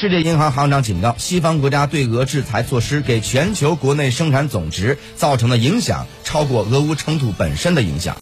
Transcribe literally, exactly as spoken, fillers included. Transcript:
世界银行行长警告，西方国家对俄制裁措施给全球国内生产总值造成的影响超过俄乌冲突本身的影响。